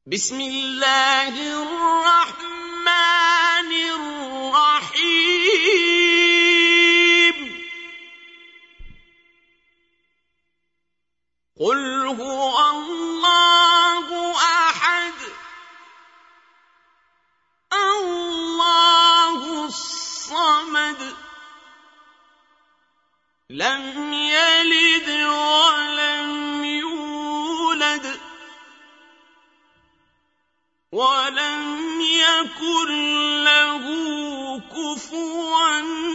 بسم الله الرحمن الرحيم قل هو الله أحد الله الصمد لم يلد ولم يولد ولم يكن له كفوا